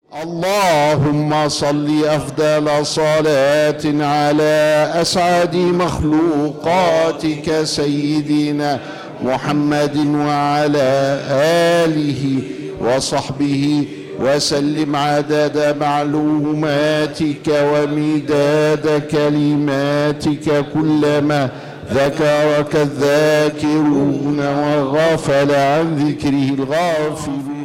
اللهم صل أفضل صلاة على أسعد مخلوقاتك سيدنا محمد وعلى آله وصحبه وسلم عدد معلوماتك ومداد كلماتك، كلما ذكرك الذاكرون وغفل عن ذكره الغافلون.